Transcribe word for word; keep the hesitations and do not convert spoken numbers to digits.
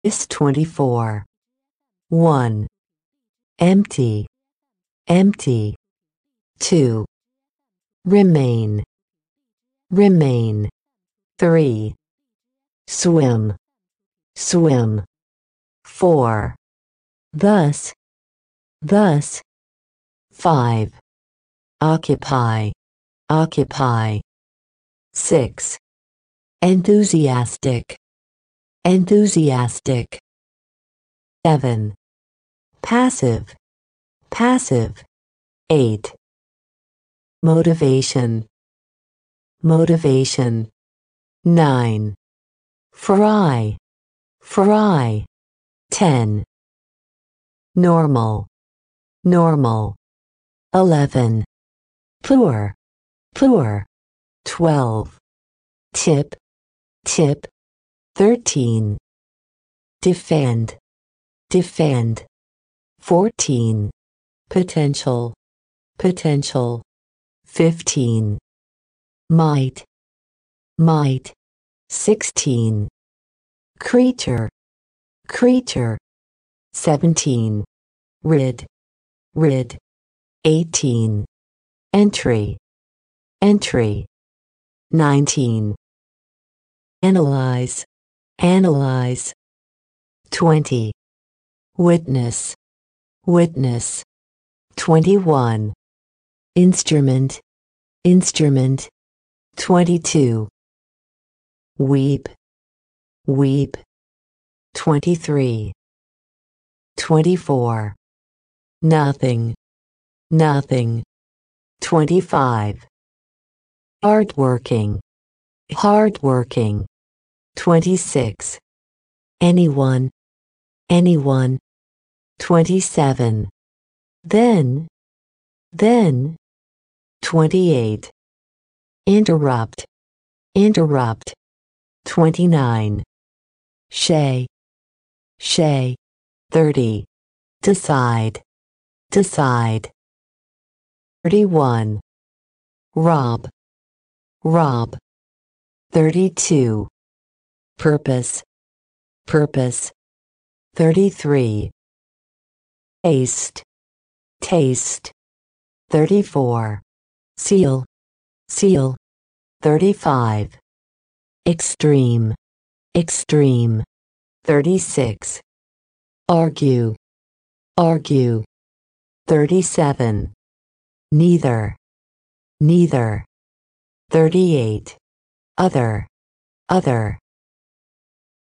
is twenty-four. one. Empty, empty. two. Remain, remain. three. Swim, swim. four. Thus, thus. five. Occupy, occupy. six. Enthusiastic, enthusiastic. seven. Passive, passive. eight. Motivation, motivation. nine. Fry, fry. ten. Normal, normal. eleven. Poor, poor. twelve. Tip, tip. thirteen. Defend, defend. fourteen. Potential, potential. fifteen. Might, might. sixteen. Creature, creature. seventeen. Rid, rid. eighteen. Entry, entry. nineteen. Analyze, analyze. twenty. Witness, witness. twenty-one. Instrument, instrument. twenty-two. Weep, weep. twenty-three. twenty-four. Nothing, nothing. twenty-five. Hardworking, hardworking. twenty-six. Anyone, anyone. twenty-seven. Then, then. twenty-eight. Interrupt, interrupt. twenty-nine. Shay, shay. thirty. Decide, decide. thirty-one. Rob, rob. thirty-two. Purpose, purpose. thirty-three. Taste, taste. thirty-four. Seal, seal. thirty-five. Extreme, extreme. thirty-six. Argue, argue. thirty-seven. Neither, neither. thirty-eight. Other, other.